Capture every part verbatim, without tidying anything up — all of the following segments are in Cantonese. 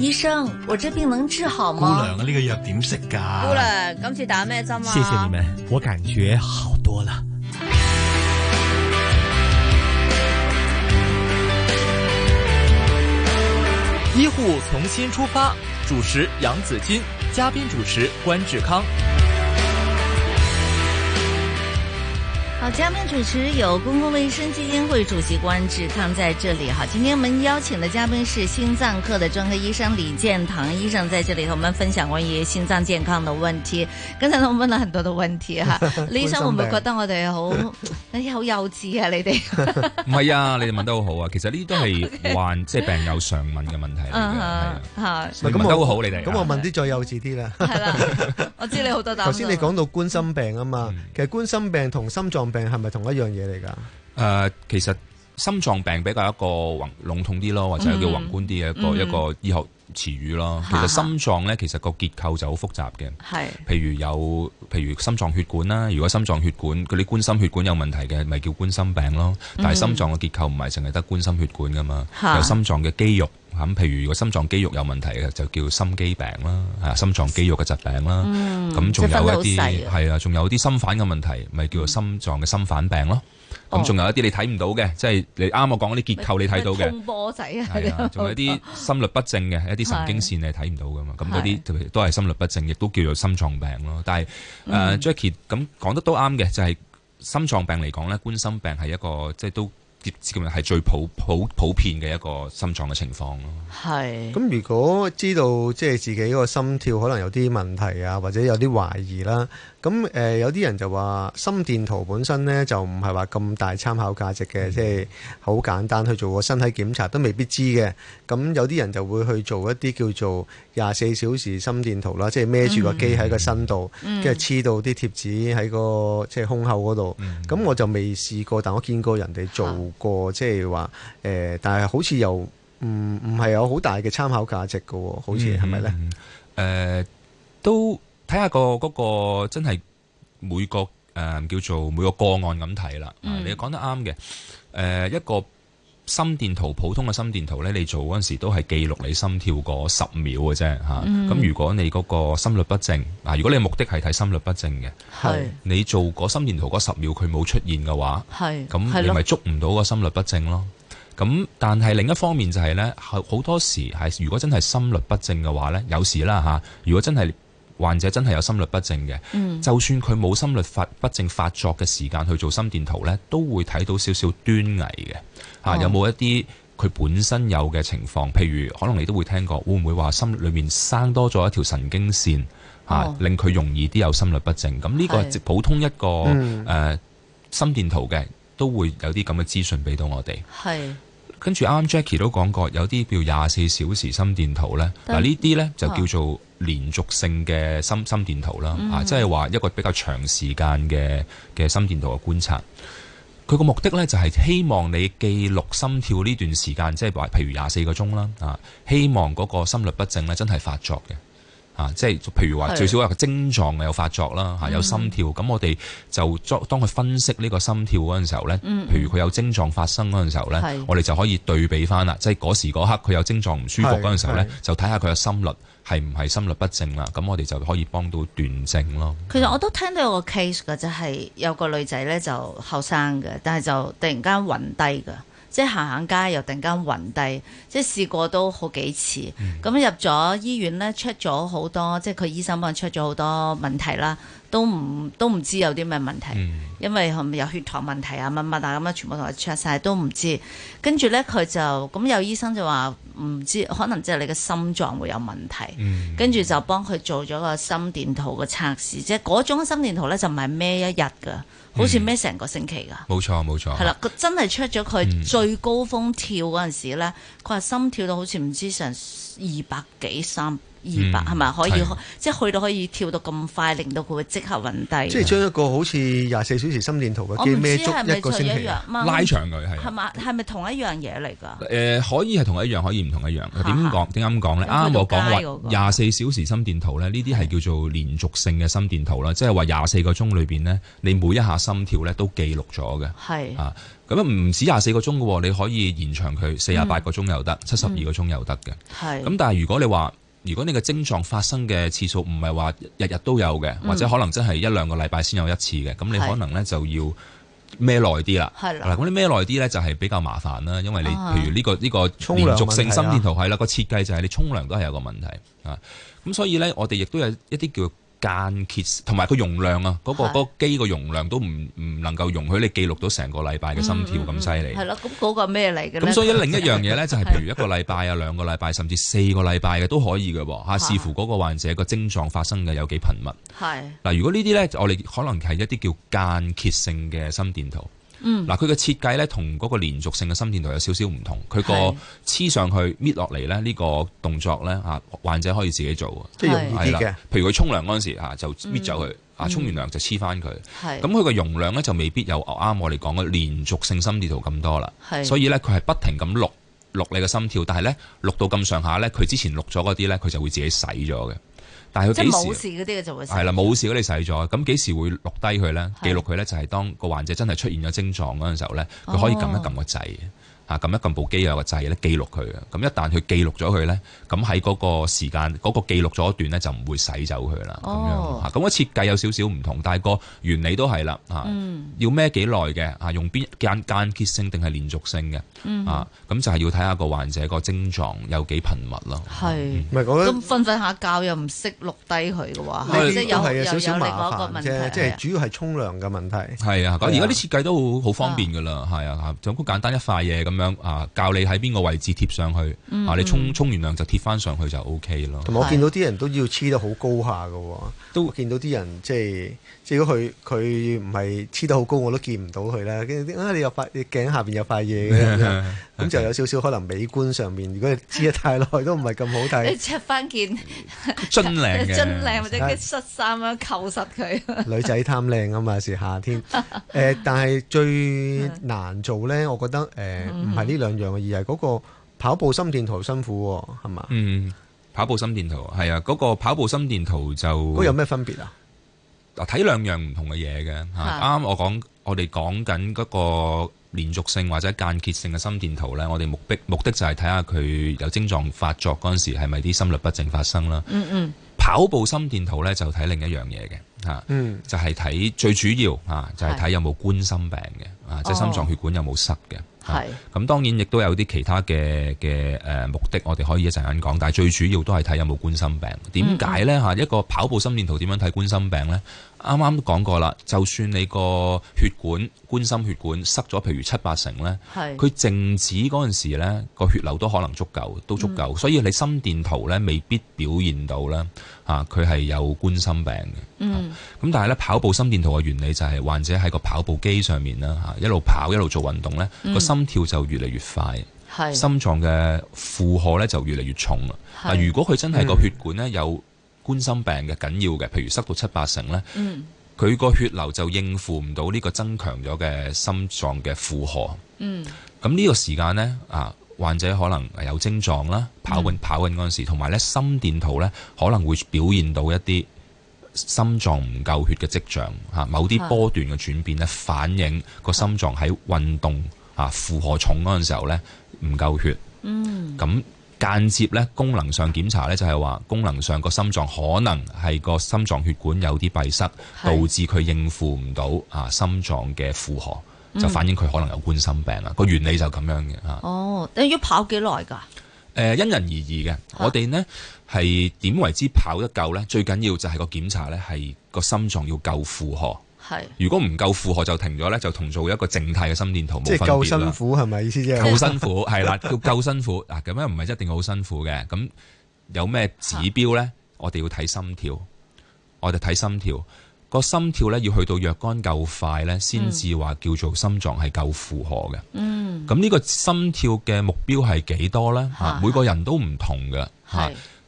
醫生，我這病能治好嗎？ 姑娘啊，呢個藥點食㗎？ 姑娘，今次打咩針啊？ 謝謝你們，我感覺好多了。醫護從新出發，主持楊子矜，嘉賓主持關志康。 好，嘉賓主持有公共衛生基金會主席關志康在這裡。好，今天我們邀請的嘉賓是心臟科的專科醫生李健棠醫生，在這裡和我們分享關於心臟健康的問題。剛才我問了很多的問題哈，李醫生會唔會覺得我哋好哎好幼稚啊？你哋唔係啊，你哋問得好好啊。其實呢啲都係患即係病友常問嘅問題嚟嘅，係啊。你問得好好，你哋。 咁我問啲再幼稚啲啦。 係啦，我知你好多答案。 頭先你講到冠心病啊嘛，其實冠心病同心臟病係咪同一樣嘢嚟㗎？誒、 呃，其實心臟病比較一個宏籠統啲咯，或者叫宏觀啲嘅一個、嗯、一個醫學詞語咯。其實心臟咧，其實個結構就好複雜嘅。係，譬如有譬如心臟血管啦，如果心臟血管嗰啲冠心血管有問題嘅，咪叫冠心病咯。但係心臟嘅結構唔係淨係得冠心血管㗎嘛，嗯、有心臟嘅肌肉。咁譬如如果心臟肌肉有問題嘅，就叫心肌病啦，啊心臟肌肉嘅疾病啦。咁仲、嗯、有一啲係啊，仲有啲心瓣嘅問題，咪叫做心臟嘅心瓣病咯。咁仲、哦、有一啲你睇唔到嘅，即係你啱我講嗰啲結構你睇到嘅。通波仔啊，係啊，仲有啲心律不正嘅一啲神經線你睇唔到噶嘛。咁嗰啲都係心律不正，亦都叫做心臟病咯。但係誒、嗯呃、Jackie 咁講得都啱嘅，就係、是、心臟病嚟講咧，冠心病係一個即係都。係最普普普遍嘅一個心臟嘅情況咯。 係。咁如果知道即係自己個心跳可能有啲問題啊，或者有啲懷疑啦，咁誒、呃、有啲人就話心電圖本身呢就唔係話咁大參考價值嘅，即係好簡單去做個身體檢查都未必知嘅。咁有啲人就會去做一啲叫做廿四小時心電圖啦，即係孭住個機喺個身度，跟住黐到啲貼紙喺個即係胸口嗰度。咁、嗯、我就未試過，但我見過人哋做過，即係話誒，但係好似又唔唔係有好大嘅參考價值嘅喎，好似係咪咧？誒、 嗯呃，都睇下個嗰個真係每個誒、呃、叫做每個個案咁睇啦。嗯、你講得啱嘅。誒、呃、一個心電圖，普通嘅心電圖咧，你做嗰陣時都係記錄你心跳嗰十秒嘅啫嚇。咁、嗯啊、如果你嗰個心律不正，嗱、啊、如果你目的係睇心律不正嘅，係你做嗰心電圖嗰十秒佢冇出現嘅話，係咁你咪捉唔到個心律不正咯。咁但係另一方面就係咧，好多時係如果真係心律不正嘅話咧，有時啦嚇，如果真係患者真係有心律不正嘅，嗯、就算佢冇心律發不正發作嘅時間去做心電圖咧，都會睇到少少端倪嘅。啊，有冇一啲佢本身有嘅情況？譬如可能你都會聽過，會唔會話心裏面生多咗一條神經線，啊哦、令佢容易啲有心律不正？咁呢個係普通一個誒、嗯呃、心電圖嘅，都會有啲咁嘅資訊俾到我哋。係。跟住啱啱 Jackie 都講過，有啲叫廿四小時心電圖咧。嗱呢啲咧就叫做連續性嘅心心電圖啦。嗯、啊，即係話一個比較長時間嘅嘅心電圖嘅觀察。佢個目的咧就係希望你記錄心跳呢段時間，即係話譬如廿四個鐘啦。啊，希望嗰個心律不正咧真係發作嘅。啊，即係譬如話最少有個症狀有發作啦，嚇、啊、有心跳，咁、嗯、我哋就當佢分析呢個心跳嗰陣時候咧，嗯、譬如佢有症狀發生嗰陣時候咧，是我哋就可以對比翻啦，即係嗰時嗰刻佢有症狀唔舒服嗰陣時候咧，就睇下佢嘅心率係唔係心律不正啦，咁我哋就可以幫到斷症咯。 其實我都聽到有個 case 㗎，就係、是、有個女仔咧就後生嘅，但係就突然間暈低㗎。即係行行街又突然間暈低，即係試過都好幾次。咁、嗯、入咗醫院咧 check 咗好多，即係佢醫生幫佢 check 咗好多問題啦，都唔都唔知有啲咩問題，嗯、因為係咪有血糖問題啊乜乜啊咁樣，全部同佢 check 晒都唔知。跟住咧佢就咁有醫生就話唔知，可能即係你嘅心臟會有問題。嗯、跟住就幫佢做咗個心電圖嘅測試，即係嗰種心電圖咧就唔係孭一日㗎。好似孭成個星期㗎， 冇錯冇錯， 係啦，佢真係出咗佢最高峰跳嗰陣時咧，佢話、嗯、心跳到好似唔知成二百幾三二百係咪可以係即係去到可以跳到咁快，令到佢會即刻暈低。 即係將一個好似廿四小時心電圖嘅機孭足一個星期， 拉長佢係係嘛？係咪同一樣嘢嚟㗎？ 誒、呃、可以係同一樣，可以唔同一樣。點講？點解咁講咧？啱啱我講話廿四小時心電圖咧，呢啲係叫做連續性嘅心電圖啦，即係話廿四個鐘裏邊咧，你每一下心跳咧都記錄咗嘅。 係啊，咁啊唔止廿四個鐘嘅喎，你可以延長佢四十八個鐘又得，七十二個鐘又得嘅。 係。 咁但係如果你話，如果你嘅症狀發生嘅次數唔係話日日都有嘅，或者可能真係一兩個禮拜先有一次嘅，咁、嗯、你可能咧就要孭耐啲啦。係啦，咁你孭耐啲咧就係比較麻煩啦，因為你譬如呢、呢個呢、呢個連續性心電圖係啦，個設計就係你沖涼都係有個問題啊。咁所以咧，我哋亦都有一啲叫間歇，同埋個容量啊，嗰、嗰個嗰、嗰個、機個容量都唔唔能夠容許你記錄到成個禮拜嘅心跳咁犀利。係咯、嗯，咁嗰個咩嚟嘅咧？ 咁所以另一樣嘢咧，就係譬如一個禮拜啊、兩個禮拜，甚至四個禮拜嘅都可以嘅喎嚇，視乎嗰個患者個症狀發生嘅有幾頻密。係嗱，如果呢啲咧，我哋可能係一啲叫間歇性嘅心電圖。嗯，嗱，佢嘅設計咧同嗰個連續性嘅心電圖有少少唔同，佢個黐上去搣落嚟咧呢個動作咧嚇，患者可以自己做，即係容易啲嘅。譬如佢沖涼嗰陣時嚇就搣走佢，啊沖完涼就黐翻佢。係咁佢個容量咧就未必有啱我哋講嘅連續性心電圖咁多啦。係，所以咧佢係不停咁錄錄你嘅心跳，但係咧錄到咁上下咧，佢之前錄咗嗰啲咧佢就會自己洗咗嘅。但係佢幾時？即係冇事嗰啲嘅就會洗。係啦，冇事嗰啲洗咗，咁幾時會錄低佢咧？記錄佢咧就係當個患者真係出現咗症狀嗰陣時候咧，佢可以撳一撳個掣。啊，撳一撳部機有個掣咧，記錄佢嘅。咁一旦佢記錄咗佢咧，咁喺嗰個時間嗰、嗰個記錄咗一段咧，就唔會洗走佢啦。咁、哦、樣嚇，咁個設計有少少唔同，但係個原理都係啦。嚇、嗯，要孭幾耐嘅？嚇，用邊間間歇性定係連續性嘅？嗯、啊，咁就係要睇下個患者個症狀有幾頻密咯。係，唔係講咁瞓瞓下覺又唔識錄低佢嘅話，即係有係有少少麻煩啫。即係主要係沖涼嘅問題。 係啊，而家啲設計都好好方便㗎啦。係啊，就咁簡單一塊嘢咁樣啊，教你喺邊個位置貼上去、嗯、啊，你沖沖完涼就貼翻上去就 O K 咯。 同埋我見到啲人都要黐得好高下㗎喎，都見到啲人即係即係如果佢佢唔係黐得好高，我都見唔到佢啦。跟住啊，你有塊你頸下邊有塊嘢嘅，咁就有少少可能美觀上面，如果你黐得太耐都唔係咁好睇。 你着翻件真靚嘅， 真靚或者嘅恤衫咁扣實佢。 女仔貪靚啊嘛，是夏天。誒、呃，但係最難做咧，我覺得誒唔係呢兩樣，而係嗰個跑步心電圖辛苦喎，係嘛？嗯， 跑步心電圖係啊，嗰、嗰個跑步心電圖就嗰有咩分別啊？ 嗱，睇兩樣唔同嘅嘢嘅嚇。啱啱我講，我哋講緊嗰個連續性或者間歇性嘅心電圖咧，我哋目的目的就係睇下佢有症狀發作嗰陣時係咪啲心律不正發生啦。嗯嗯。跑步心電圖咧就睇另一樣嘢嘅嚇，嗯、就係睇最主要嚇就係睇有冇冠心病嘅啊，即係心臟血管有冇塞嘅。係咁，當然亦都有啲其他嘅嘅誒目的，我哋可以一陣間講。但係最主要都係睇有冇冠心病。點解咧嚇？一個跑步心電圖點樣睇冠心病咧？啱啱都講過啦，就算你個血管冠心血管塞咗，譬如七八成咧，佢靜止嗰陣時咧，個血流都可能足夠，都足夠。嗯、所以你心電圖咧未必表現到咧嚇，佢係有冠心病嘅。嗯，咁但係咧跑步心電圖嘅原理就係患者喺個跑步機上面啦嚇，一路跑一路做運動咧，個、嗯、心跳就越嚟越快，係心臟嘅負荷咧就越嚟越重啦。嗱，如果佢真係個血管咧有冠心病嘅緊要嘅，譬如塞到七八成咧，佢個、嗯、血流就應付唔到呢個增強咗嘅心臟嘅負荷。嗯，咁呢個時間呢，啊，患者可能有症狀啦，跑緊、嗯、跑緊嗰陣時，同埋咧心電圖咧可能會表現到一啲心臟唔夠血嘅跡象嚇，某啲波段嘅轉變咧反映個心臟喺運動啊負荷重嗰陣時候咧唔夠血。嗯，咁。間接咧功能上檢查咧就係話功能上個心臟可能係個心臟血管有啲閉塞，導致佢應付唔到啊心臟嘅負荷，就反映佢可能有冠心病啊。個、嗯、原理就咁樣嘅嚇。哦， 你要跑幾耐㗎？誒、 呃，因人而異嘅。啊、我哋呢係點為之跑得夠咧？最緊要就係個檢查咧係個心臟要夠負荷。係，如果唔夠負荷就停咗咧，就同做一個靜態嘅心電圖冇分別啦。即係夠辛苦係咪意思啫？夠辛苦係啦，叫夠辛苦嗱，咁樣唔係一定好辛苦嘅。咁有咩指標咧？我哋要睇心跳，我哋睇心跳，個心跳咧要去到若干夠快咧，先至話叫做心臟係夠負荷嘅。嗯，咁呢個心跳嘅目標係幾多咧？嚇，每個人都唔同嘅嚇。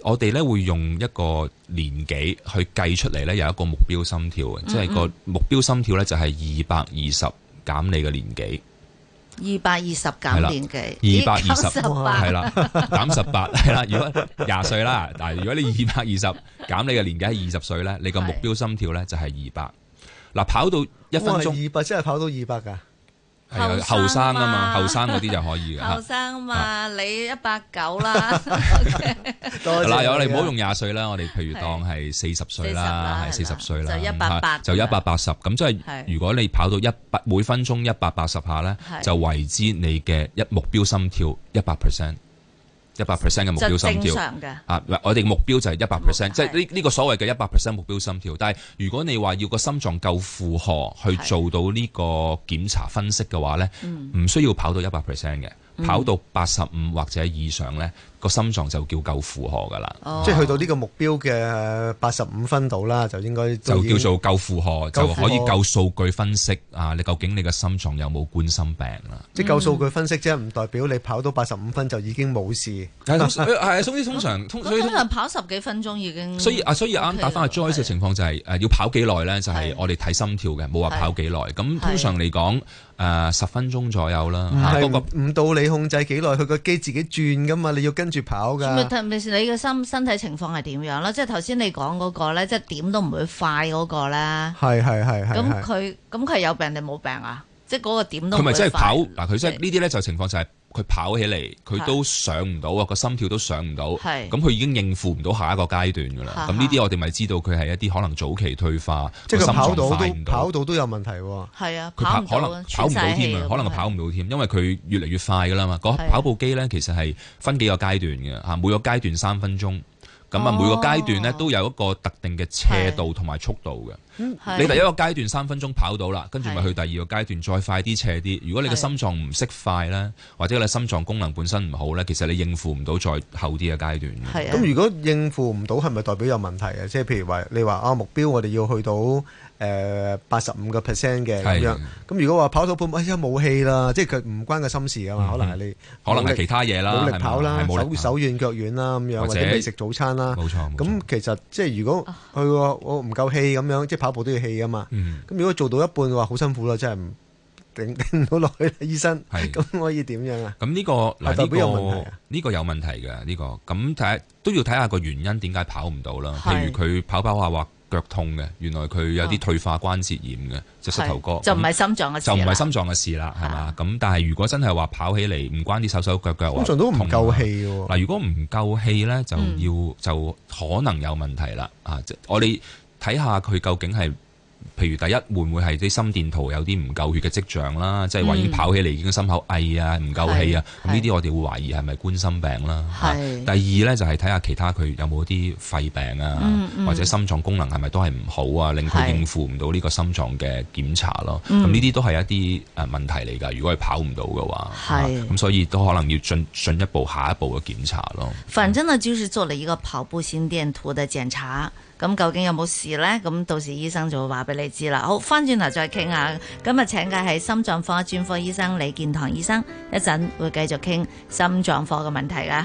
我哋咧會用一個年紀去計出嚟咧，有一個目標心跳嘅，嗯嗯即係個目標心跳咧就係二百二十減你嘅年紀。 二百二十減年紀， 二百二十係啦，減十八係啦。如果廿歲啦，但係如果你二百二十減你嘅年紀係二十歲咧，你個目標心跳咧就係二百。嗱，跑到一分鐘， 二百真係跑到二百㗎。 係啊，後生啊嘛，後生嗰啲就可以嘅。 後生啊嘛，你一百九啦。 嗱，有你唔好用廿歲啦，我哋譬如當係四十歲啦，係四十歲啦， 就一百八， 就一百八十。咁即係如果你跑到一百每分鐘一百八十下咧，就為之你嘅一目標心跳一百 percent。一百 percent 嘅目標心跳啊！我哋目標就係一百 percent，即係呢呢個所謂嘅一百 percent 目標心跳。但係如果你話要個心臟夠負荷去做到呢個檢查分析嘅話咧，唔需要跑到一百 percent 嘅，跑到八十五或者以上咧，個心臟就叫夠負荷噶啦。 哦、 即係去到呢個目標嘅八十五分度啦，就應該就叫做夠負荷，就可以夠數據分析啊！你究竟你嘅心臟有冇冠心病啦？ 即係夠數據分析啫，唔代表你跑到八十五分就已經冇事。 係係，總之通常通通常跑十幾分鐘已經。 所以啊，所以啱打翻阿 Joyce 嘅情況就係誒要跑幾耐咧？就係我哋睇心跳嘅，冇話跑幾耐。咁通常嚟講誒十分鐘左右啦。 唔係唔到你控制幾耐，佢個機自己轉噶嘛，你要跟住跑㗎。 你嘅身身體情況係點樣啦？即係頭先你講嗰個咧，即係點都唔會快嗰個咧。 係係係係。 咁佢咁佢有病定冇病啊？即係嗰個點都唔會快。 佢咪即係跑嗱？佢即係呢啲咧就情況就係佢跑起嚟，佢都上唔到啊，個心跳都上唔到。係。咁佢已經應付唔到下一個階段㗎啦。咁呢啲我哋咪知道佢係一啲可能早期退化， 即係佢跑到都快唔到跑到都有問題喎。 係啊， 佢跑可能跑唔到添啊，可能佢跑唔到添，因為佢越嚟越快㗎啦嘛。嗰跑步機咧其實係分幾個階段嘅嚇，每個階段三分鐘。咁啊，每個階段咧都有一個特定嘅斜度同埋速度嘅。你第一個階段三分鐘跑到啦，跟住咪去第二個階段再快啲斜啲。如果你嘅心臟唔識快咧，或者你心臟功能本身唔好咧，其實你應付唔到再後啲嘅階段。 係啊。咁如果應付唔到，係咪代表有問題啊？即係譬如話，你話啊目標我哋要去到誒八十五個 percent 嘅咁樣。咁如果話跑到半，哎呀冇氣啦，即係佢唔關個心事噶嘛，可能係你可能係其他嘢啦， 冇力跑啦，手手軟腳軟啦咁樣，或者未食早餐啦。 冇錯。 咁其實即係如果佢話我唔夠氣咁樣，即係跑步都要氣噶嘛。 嗯。 咁如果做到一半嘅話，好辛苦啦，真係唔頂頂唔到落去啦，醫生。係。咁可以點樣啊？ 咁呢個嗱呢個呢個有問題嘅呢個，咁睇下都要睇下個原因點解跑唔到啦。譬如佢跑跑下話腳痛嘅，原來佢有啲退化關節炎嘅隻膝頭哥， 就唔係心臟嘅事， 就唔係心臟嘅事啦，係嘛？咁但係如果真係話跑起嚟唔關啲手手腳腳， 通常都唔夠氣喎。 嗱，如果唔夠氣咧，就要就可能有問題啦。啊，即我哋睇下佢究竟係。譬如第一會唔會係啲心電圖有啲唔夠血嘅跡象啦，即係話已經跑起嚟已經心口翳啊，唔夠氣啊，咁呢啲我哋會懷疑係咪冠心病啦。第二呢，就係睇下其他佢有冇啲肺病啊，嗯嗯、或者心臟功能係咪都係唔好啊，令佢應付唔到呢個心臟嘅檢查咯。咁呢啲都係一啲誒問題嚟㗎。如果係跑唔到嘅話，咁、啊、所以都可能要進進一步下一步嘅檢查咯。 反正呢，就是做了一個跑步心電圖嘅檢查。咁究竟有冇事呢？咁到時醫生就會話俾你知啦。好，翻轉頭再傾下。今日請嘅係心臟科專科醫生李健棠醫生，一陣會繼續傾心臟科嘅問題㗎。